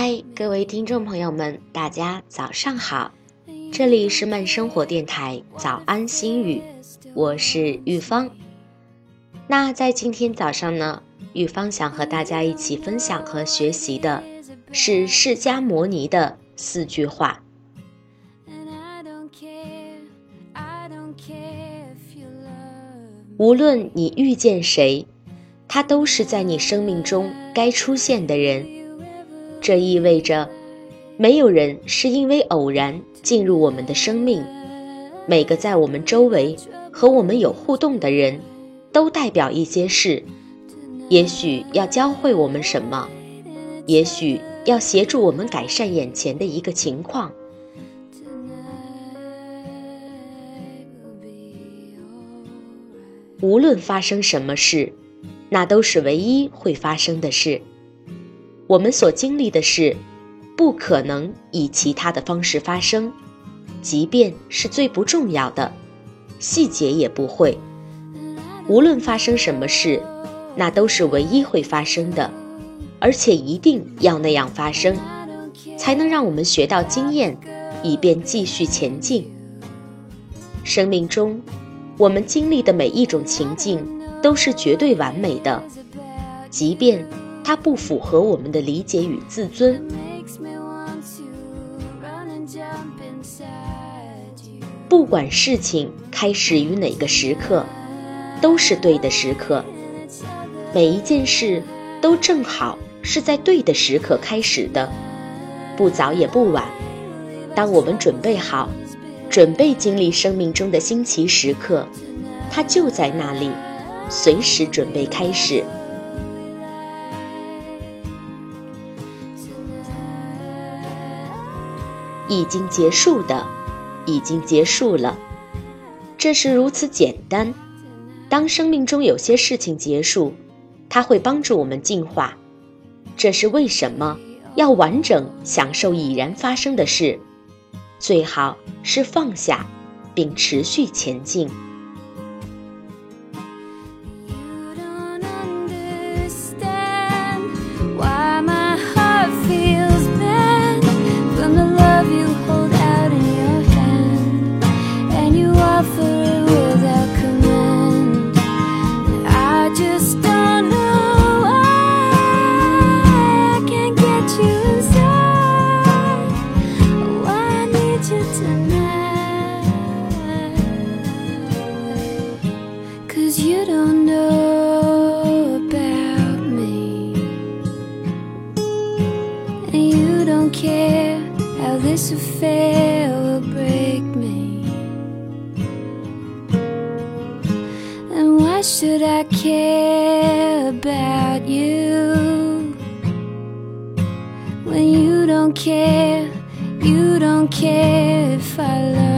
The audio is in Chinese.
嗨，各位听众朋友们，大家早上好，这里是慢生活电台早安心语，我是玉芳。那在今天早上呢，玉芳想和大家一起分享和学习的是释迦牟尼的4句话。无论你遇见谁，他都是在你生命中该出现的人。这意味着没有人是因为偶然进入我们的生命，每个在我们周围和我们有互动的人都代表一些事，也许要教会我们什么，也许要协助我们改善眼前的一个情况。无论发生什么事，那都是唯一会发生的事。我们所经历的事，不可能以其他的方式发生，即便是最不重要的，细节也不会。无论发生什么事，那都是唯一会发生的，而且一定要那样发生，才能让我们学到经验，以便继续前进。生命中，我们经历的每一种情境都是绝对完美的，即便它不符合我们的理解与自尊。不管事情开始于哪个时刻，都是对的时刻。每一件事都正好是在对的时刻开始的，不早也不晚。当我们准备好，准备经历生命中的新奇时刻，它就在那里，随时准备开始。已经结束的，已经结束了。这是如此简单。当生命中有些事情结束，它会帮助我们进化。这是为什么要完整享受已然发生的事，最好是放下并持续前进。 You don't know about me, and you don't care how this affair will break me. And why should I care about you when you don't care if I love you?